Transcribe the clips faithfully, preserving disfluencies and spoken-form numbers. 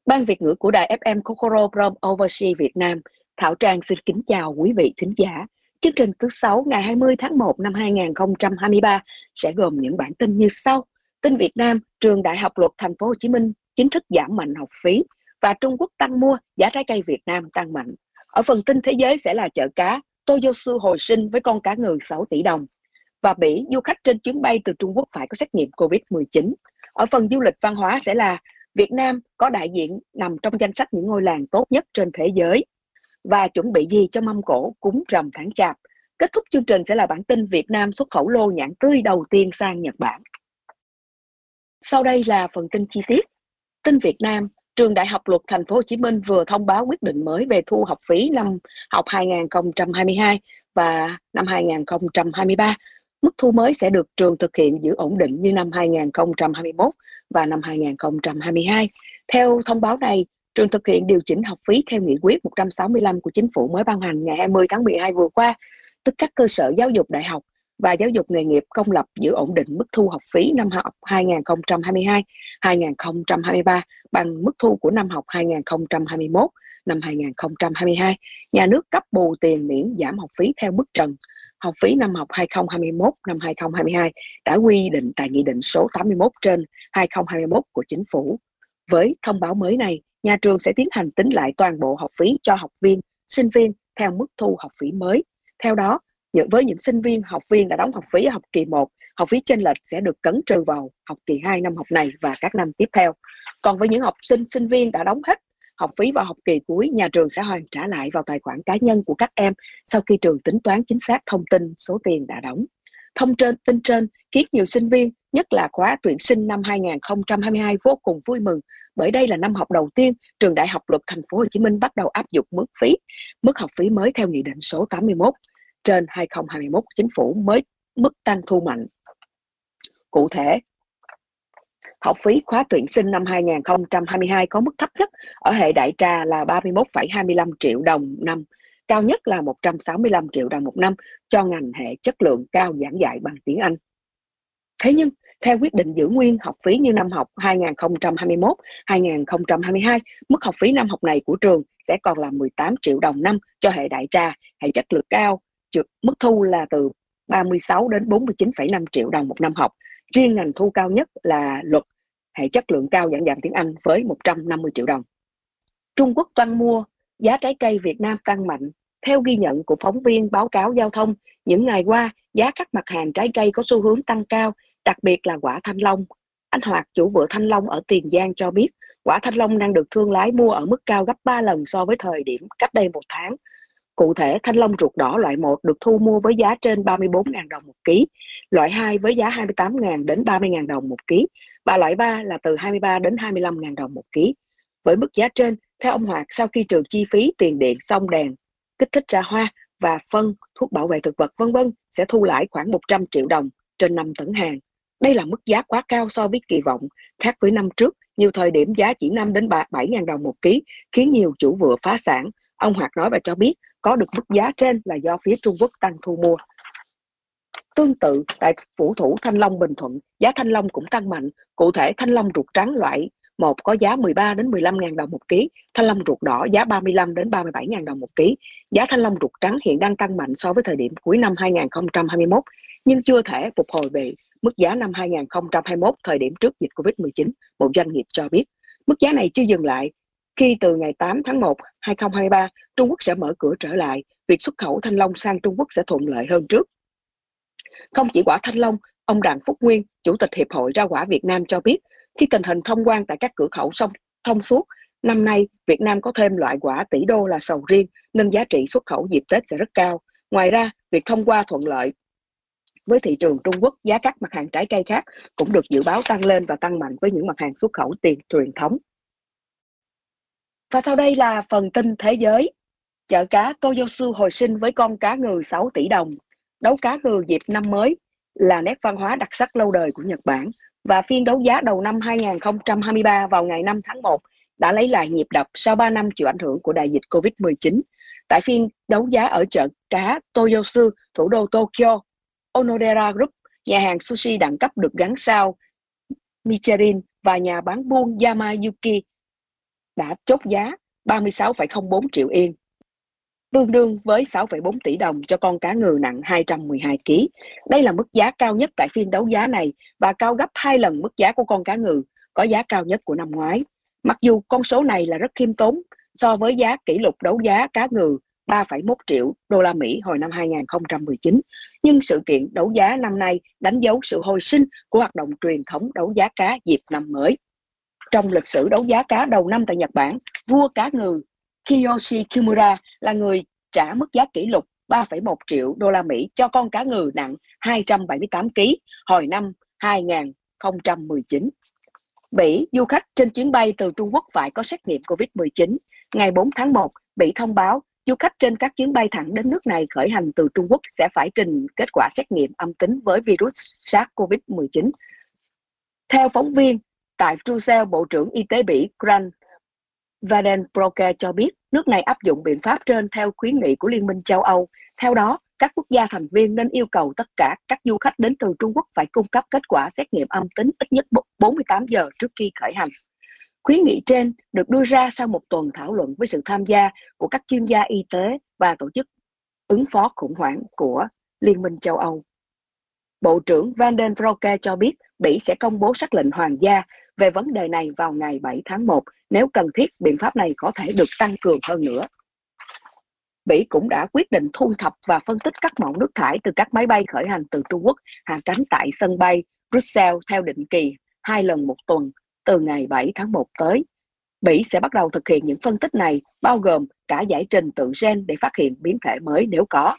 Ban Việt ngữ của đài ép em Kokoro from Overseas Việt Nam, Thảo Trang xin kính chào quý vị thính giả. Chương trình thứ sáu ngày hai mươi tháng một năm hai nghìn không trăm hai mươi ba sẽ gồm những bản tin như sau. Tin Việt Nam, trường Đại học Luật Thành phố Hồ Chí Minh chính thức giảm mạnh học phí và Trung Quốc tăng mua, giá trái cây Việt Nam tăng mạnh. Ở phần tin thế giới sẽ là chợ cá, Toyosu hồi sinh với con cá ngừ sáu tỷ đồng. Và Bỉ, du khách trên chuyến bay từ Trung Quốc phải có xét nghiệm covid mười chín. Ở phần du lịch văn hóa sẽ là Việt Nam có đại diện nằm trong danh sách những ngôi làng tốt nhất trên thế giới. Và chuẩn bị gì cho mâm cỗ cúng rằm tháng Chạp. Kết thúc chương trình sẽ là bản tin Việt Nam xuất khẩu lô nhãn tươi đầu tiên sang Nhật Bản. Sau đây là phần tin chi tiết. Tin Việt Nam, trường Đại học Luật Thành phố Hồ Chí Minh vừa thông báo quyết định mới về thu học phí năm học hai nghìn không trăm hai mươi hai và năm hai nghìn không trăm hai mươi ba. Mức thu mới sẽ được trường thực hiện giữ ổn định như năm hai nghìn không trăm hai mươi mốt và năm hai nghìn không trăm hai mươi hai. Theo thông báo này, trường thực hiện điều chỉnh học phí theo nghị quyết một trăm sáu mươi lăm của chính phủ mới ban hành ngày hai mươi tháng mười hai vừa qua, tức các cơ sở giáo dục đại học và giáo dục nghề nghiệp công lập giữ ổn định mức thu học phí năm học hai nghìn không trăm hai mươi hai hai nghìn không trăm hai mươi ba bằng mức thu của năm học hai nghìn không trăm hai mươi mốt năm hai nghìn không trăm hai mươi hai. Nhà nước cấp bù tiền miễn giảm học phí theo mức trần. Học phí năm học hai nghìn không trăm hai mươi mốt năm hai nghìn không trăm hai mươi hai đã quy định tại Nghị định số tám mươi mốt trên hai nghìn không trăm hai mươi mốt của chính phủ. Với thông báo mới này, nhà trường sẽ tiến hành tính lại toàn bộ học phí cho học viên, sinh viên theo mức thu học phí mới. Theo đó, với những sinh viên, học viên đã đóng học phí ở học kỳ một, học phí chênh lệch sẽ được cấn trừ vào học kỳ hai năm học này và các năm tiếp theo. Còn với những học sinh, sinh viên đã đóng hết học phí vào học kỳ cuối, nhà trường sẽ hoàn trả lại vào tài khoản cá nhân của các em sau khi trường tính toán chính xác thông tin số tiền đã đóng. Thông trên tin trên khiến nhiều sinh viên, nhất là khóa tuyển sinh năm hai nghìn không trăm hai mươi hai vô cùng vui mừng, bởi đây là năm học đầu tiên trường Đại học Luật Thành phố Hồ Chí Minh bắt đầu áp dụng mức phí, mức học phí mới theo Nghị định số tám mươi mốt trên hai nghìn không trăm hai mươi mốt của chính phủ mới mức tăng thu mạnh. Cụ thể, học phí khóa tuyển sinh năm hai nghìn không trăm hai mươi hai có mức thấp nhất ở hệ đại trà là ba mươi mốt phẩy hai mươi lăm triệu đồng một năm, cao nhất là một trăm sáu mươi lăm triệu đồng một năm cho ngành hệ chất lượng cao giảng dạy bằng tiếng Anh. Thế nhưng, theo quyết định giữ nguyên học phí như năm học hai nghìn không trăm hai mươi mốt hai nghìn không trăm hai mươi hai, mức học phí năm học này của trường sẽ còn là mười tám triệu đồng năm cho hệ đại trà, hệ chất lượng cao, mức thu là từ ba mươi sáu đến bốn mươi chín phẩy năm triệu đồng một năm học. Riêng ngành thu cao nhất là luật, hệ chất lượng cao giảng dạy tiếng Anh với một trăm năm mươi triệu đồng. Trung Quốc tăng mua, giá trái cây Việt Nam tăng mạnh. Theo ghi nhận của phóng viên báo cáo giao thông, những ngày qua, giá các mặt hàng trái cây có xu hướng tăng cao, đặc biệt là quả thanh long. Anh Hoạt, chủ vựa thanh long ở Tiền Giang cho biết, quả thanh long đang được thương lái mua ở mức cao gấp ba lần so với thời điểm cách đây một tháng. Cụ thể, thanh long ruột đỏ loại một được thu mua với giá trên ba mươi bốn nghìn đồng một ký, loại hai với giá hai mươi tám nghìn đến ba mươi nghìn đồng một ký, và loại ba là từ hai mươi ba đến hai mươi lăm nghìn đồng một ký. Với mức giá trên, theo ông Hoạt, sau khi trừ chi phí tiền điện, xông đèn, kích thích ra hoa và phân, thuốc bảo vệ thực vật vân vân sẽ thu lãi khoảng một trăm triệu đồng trên năm tấn hàng. Đây là mức giá quá cao so với kỳ vọng, khác với năm trước, nhiều thời điểm giá chỉ năm đến bảy nghìn đồng một ký, khiến nhiều chủ vựa phá sản. Ông Hoạt nói và cho biết có được mức giá trên là do phía Trung Quốc tăng thu mua. Tương tự, tại phủ thủ Thanh Long Bình Thuận, giá thanh long cũng tăng mạnh. Cụ thể, thanh long ruột trắng loại một có giá mười ba đến mười lăm nghìn đồng một ký, thanh long ruột đỏ giá ba mươi lăm đến ba mươi bảy nghìn đồng một ký. Giá thanh long ruột trắng hiện đang tăng mạnh so với thời điểm cuối năm hai nghìn không trăm hai mươi mốt, nhưng chưa thể phục hồi về mức giá năm hai nghìn không trăm hai mươi mốt thời điểm trước dịch covid mười chín, một doanh nghiệp cho biết. Mức giá này chưa dừng lại. Khi từ ngày tám tháng một năm hai nghìn không trăm hai mươi ba, Trung Quốc sẽ mở cửa trở lại, việc xuất khẩu thanh long sang Trung Quốc sẽ thuận lợi hơn trước. Không chỉ quả thanh long, ông Đặng Phúc Nguyên, Chủ tịch Hiệp hội Rau quả Việt Nam cho biết, khi tình hình thông quan tại các cửa khẩu song thông suốt, năm nay Việt Nam có thêm loại quả tỷ đô là sầu riêng, nên giá trị xuất khẩu dịp Tết sẽ rất cao. Ngoài ra, việc thông qua thuận lợi với thị trường Trung Quốc, giá các mặt hàng trái cây khác cũng được dự báo tăng lên và tăng mạnh với những mặt hàng xuất khẩu tiền truyền thống. Và sau đây là phần tin thế giới. Chợ cá Toyosu hồi sinh với con cá ngừ sáu tỷ đồng. Đấu cá ngừ dịp năm mới là nét văn hóa đặc sắc lâu đời của Nhật Bản, và phiên đấu giá đầu năm hai nghìn không trăm hai mươi ba vào ngày năm tháng một đã lấy lại nhịp đập sau ba năm chịu ảnh hưởng của đại dịch covid mười chín. Tại phiên đấu giá ở chợ cá Toyosu, thủ đô Tokyo, Onodera Group, nhà hàng sushi đẳng cấp được gắn sao Michelin và nhà bán buôn Yamayuki đã chốt giá ba mươi sáu phẩy không bốn triệu yên, tương đương với sáu phẩy bốn tỷ đồng cho con cá ngừ nặng hai trăm mười hai ki lô gam. Đây là mức giá cao nhất tại phiên đấu giá này và cao gấp hai lần mức giá của con cá ngừ có giá cao nhất của năm ngoái. Mặc dù con số này là rất khiêm tốn so với giá kỷ lục đấu giá cá ngừ ba phẩy một triệu đô la Mỹ hồi năm hai nghìn không trăm mười chín, nhưng sự kiện đấu giá năm nay đánh dấu sự hồi sinh của hoạt động truyền thống đấu giá cá dịp năm mới. Trong lịch sử đấu giá cá đầu năm tại Nhật Bản, vua cá ngừ Kiyoshi Kimura là người trả mức giá kỷ lục ba phẩy một triệu đô la Mỹ cho con cá ngừ nặng hai trăm bảy mươi tám ki lô gam hồi năm hai nghìn không trăm mười chín. Bỉ, du khách trên chuyến bay từ Trung Quốc phải có xét nghiệm covid mười chín. Ngày bốn tháng một, Bỉ thông báo du khách trên các chuyến bay thẳng đến nước này khởi hành từ Trung Quốc sẽ phải trình kết quả xét nghiệm âm tính với virus SARS-xê o vê mười chín. Theo phóng viên tại Brussels, Bộ trưởng Y tế Bỉ Grant Wadenbroek cho biết nước này áp dụng biện pháp trên theo khuyến nghị của Liên minh châu Âu. Theo đó, các quốc gia thành viên nên yêu cầu tất cả các du khách đến từ Trung Quốc phải cung cấp kết quả xét nghiệm âm tính ít nhất bốn mươi tám giờ trước khi khởi hành. Khuyến nghị trên được đưa ra sau một tuần thảo luận với sự tham gia của các chuyên gia y tế và tổ chức ứng phó khủng hoảng của Liên minh châu Âu. Bộ trưởng Wadenbroek cho biết Bỉ sẽ công bố sắc lệnh hoàng gia về vấn đề này vào ngày bảy tháng một nếu cần thiết biện pháp này có thể được tăng cường hơn nữa. Bỉ cũng đã quyết định thu thập và phân tích các mẫu nước thải từ các máy bay khởi hành từ Trung Quốc hạ cánh tại sân bay Brussels theo định kỳ hai lần một tuần từ ngày bảy tháng một tới. Bỉ sẽ bắt đầu thực hiện những phân tích này, bao gồm cả giải trình tự gen để phát hiện biến thể mới nếu có.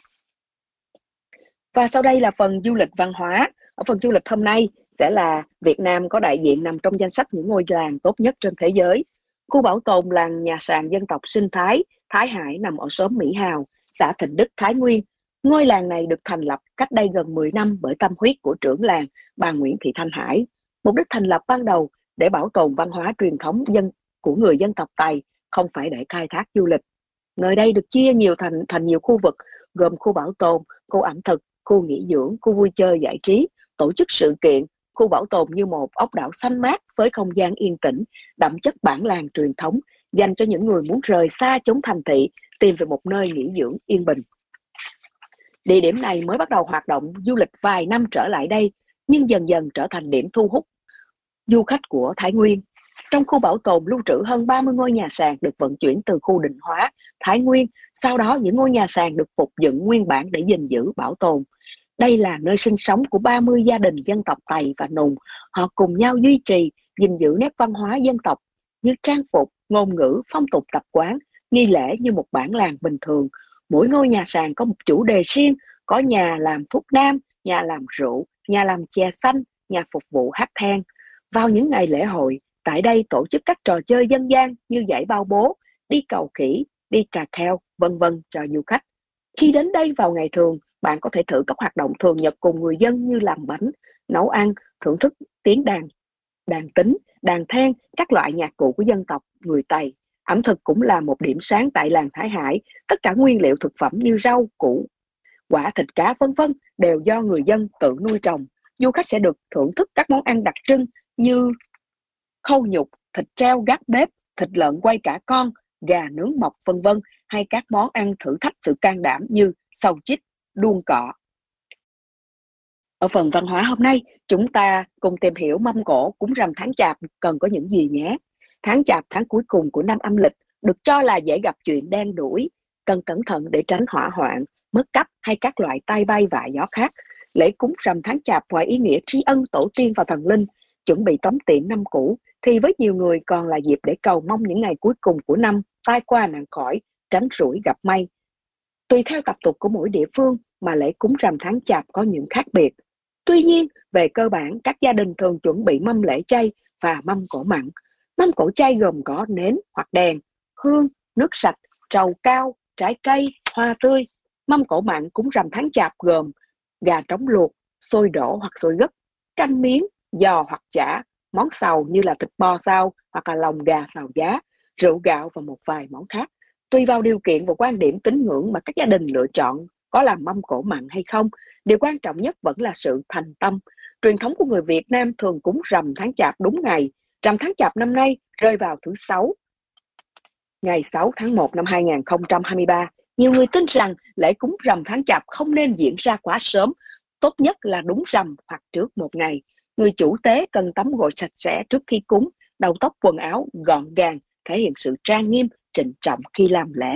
Và sau đây là phần du lịch văn hóa. Ở phần du lịch hôm nay sẽ là Việt Nam có đại diện nằm trong danh sách những ngôi làng tốt nhất trên thế giới. Khu bảo tồn làng nhà sàn dân tộc sinh thái Thái Hải nằm ở xóm Mỹ Hào, xã Thịnh Đức, Thái Nguyên. Ngôi làng này được thành lập cách đây gần mười năm bởi tâm huyết của trưởng làng bà Nguyễn Thị Thanh Hải. Mục đích thành lập ban đầu để bảo tồn văn hóa truyền thống dân của người dân tộc Tày, không phải để khai thác du lịch. Nơi đây được chia nhiều thành thành nhiều khu vực, gồm khu bảo tồn, khu ẩm thực, khu nghỉ dưỡng, khu vui chơi giải trí, tổ chức sự kiện. Khu bảo tồn như một ốc đảo xanh mát với không gian yên tĩnh, đậm chất bản làng truyền thống, dành cho những người muốn rời xa chốn thành thị, tìm về một nơi nghỉ dưỡng yên bình. Địa điểm này mới bắt đầu hoạt động du lịch vài năm trở lại đây, nhưng dần dần trở thành điểm thu hút du khách của Thái Nguyên. Trong khu bảo tồn lưu trữ hơn ba mươi ngôi nhà sàn được vận chuyển từ khu định hóa Thái Nguyên, sau đó những ngôi nhà sàn được phục dựng nguyên bản để gìn giữ bảo tồn. Đây là nơi sinh sống của ba mươi gia đình dân tộc Tày và Nùng. Họ cùng nhau duy trì, gìn giữ nét văn hóa dân tộc như trang phục, ngôn ngữ, phong tục tập quán, nghi lễ như một bản làng bình thường. Mỗi ngôi nhà sàn có một chủ đề riêng, có nhà làm thuốc nam, nhà làm rượu, nhà làm chè xanh, nhà phục vụ hát then. Vào những ngày lễ hội, tại đây tổ chức các trò chơi dân gian như giải bao bố, đi cầu khỉ, đi cà kheo, vân vân cho du khách. Khi đến đây vào ngày thường, bạn có thể thử các hoạt động thường nhật cùng người dân như làm bánh, nấu ăn, thưởng thức tiếng đàn, đàn tính, đàn then, các loại nhạc cụ của dân tộc người Tày. Ẩm thực cũng là một điểm sáng tại làng Thái Hải. Tất cả nguyên liệu thực phẩm như rau, củ, quả, thịt cá vân vân đều do người dân tự nuôi trồng. Du khách sẽ được thưởng thức các món ăn đặc trưng như khâu nhục, thịt treo gác bếp, thịt lợn quay cả con, gà nướng mọc vân vân, hay các món ăn thử thách sự can đảm như sầu chích, đuông cọ. Ở phần văn hóa hôm nay, chúng ta cùng tìm hiểu mâm cỗ cúng rằm tháng Chạp cần có những gì nhé. Tháng Chạp, tháng cuối cùng của năm âm lịch, được cho là dễ gặp chuyện đen đủi, cần cẩn thận để tránh hỏa hoạn, mất cắp hay các loại tai bay vạ gió khác. Lễ cúng rằm tháng Chạp ngoài ý nghĩa tri ân tổ tiên và thần linh, chuẩn bị tống tiễn năm cũ, thì với nhiều người còn là dịp để cầu mong những ngày cuối cùng của năm tai qua nạn khỏi, tránh rủi gặp may. Tùy theo tập tục của mỗi địa phương mà lễ cúng rằm tháng Chạp có những khác biệt. Tuy nhiên, về cơ bản, các gia đình thường chuẩn bị mâm lễ chay và mâm cỗ mặn. Mâm cỗ chay gồm có nến hoặc đèn, hương, nước sạch, trầu cao, trái cây, hoa tươi. Mâm cỗ mặn cúng rằm tháng Chạp gồm gà trống luộc, xôi đổ hoặc xôi gấc, canh miếng, giò hoặc chả, món xào như là thịt bò xào hoặc là lòng gà xào giá, rượu gạo và một vài món khác. Tùy vào điều kiện và quan điểm tín ngưỡng mà các gia đình lựa chọn có làm mâm cỗ mặn hay không, điều quan trọng nhất vẫn là sự thành tâm. Truyền thống của người Việt Nam thường cúng rằm tháng Chạp đúng ngày. Rằm tháng Chạp năm nay rơi vào thứ Sáu, Ngày sáu tháng một năm hai nghìn không trăm hai mươi ba, nhiều người tin rằng lễ cúng rằm tháng Chạp không nên diễn ra quá sớm, tốt nhất là đúng rằm hoặc trước một ngày. Người chủ tế cần tắm gội sạch sẽ trước khi cúng, đầu tóc quần áo gọn gàng, thể hiện sự trang nghiêm, trịnh trọng khi làm lễ.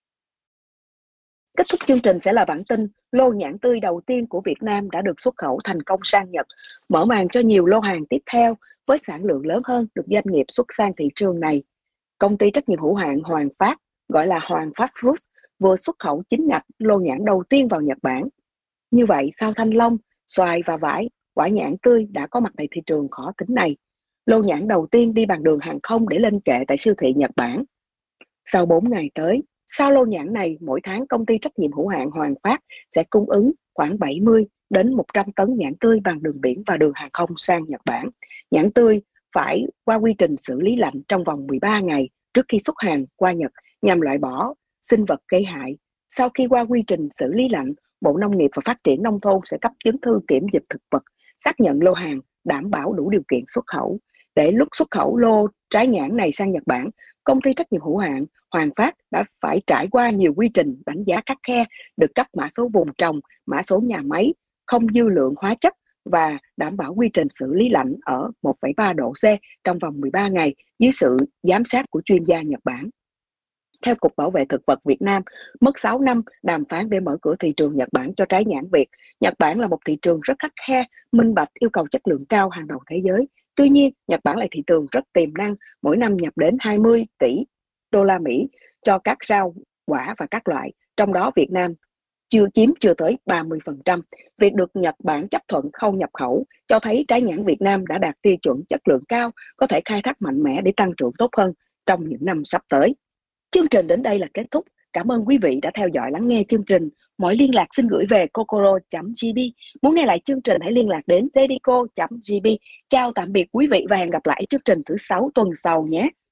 Kết thúc chương trình sẽ là bản tin lô nhãn tươi đầu tiên của Việt Nam đã được xuất khẩu thành công sang Nhật, mở màn cho nhiều lô hàng tiếp theo với sản lượng lớn hơn được doanh nghiệp xuất sang thị trường này. Công ty trách nhiệm hữu hạn Hoàng Phát, gọi là Hoàng Phát Fruits, vừa xuất khẩu chính ngạch lô nhãn đầu tiên vào Nhật Bản. Như vậy, sau thanh long, xoài và vải, quả nhãn tươi đã có mặt tại thị trường khó tính này. Lô nhãn đầu tiên đi bằng đường hàng không để lên kệ tại siêu thị Nhật Bản. Sau bốn ngày tới, sau lô nhãn này, mỗi tháng công ty trách nhiệm hữu hạn Hoàng Phát sẽ cung ứng khoảng bảy mươi đến một trăm tấn nhãn tươi bằng đường biển và đường hàng không sang Nhật Bản. Nhãn tươi phải qua quy trình xử lý lạnh trong vòng mười ba ngày trước khi xuất hàng qua Nhật nhằm loại bỏ sinh vật gây hại. Sau khi qua quy trình xử lý lạnh, Bộ Nông nghiệp và Phát triển Nông thôn sẽ cấp chứng thư kiểm dịch thực vật, xác nhận lô hàng đảm bảo đủ điều kiện xuất khẩu. Để lúc xuất khẩu lô trái nhãn này sang Nhật Bản, công ty trách nhiệm hữu hạn Hoàng Phát đã phải trải qua nhiều quy trình đánh giá khắt khe, được cấp mã số vùng trồng, mã số nhà máy, không dư lượng hóa chất và đảm bảo quy trình xử lý lạnh ở một phẩy ba độ C trong vòng mười ba ngày dưới sự giám sát của chuyên gia Nhật Bản. Theo Cục Bảo vệ Thực vật Việt Nam, mất sáu năm đàm phán để mở cửa thị trường Nhật Bản cho trái nhãn Việt. Nhật Bản là một thị trường rất khắt khe, minh bạch, yêu cầu chất lượng cao hàng đầu thế giới. Tuy nhiên, Nhật Bản là thị trường rất tiềm năng, mỗi năm nhập đến hai mươi tỷ đô la Mỹ cho các rau, quả và các loại, trong đó Việt Nam chưa chiếm chưa tới ba mươi phần trăm. Việc được Nhật Bản chấp thuận khâu nhập khẩu cho thấy trái nhãn Việt Nam đã đạt tiêu chuẩn chất lượng cao, có thể khai thác mạnh mẽ để tăng trưởng tốt hơn trong những năm sắp tới. Chương trình đến đây là kết thúc. Cảm ơn quý vị đã theo dõi lắng nghe chương trình. Mọi liên lạc xin gửi về kokoro chấm g b. Muốn nghe lại chương trình hãy liên lạc đến dedico chấm g b. Chào tạm biệt quý vị và hẹn gặp lại chương trình thứ sáu tuần sau nhé.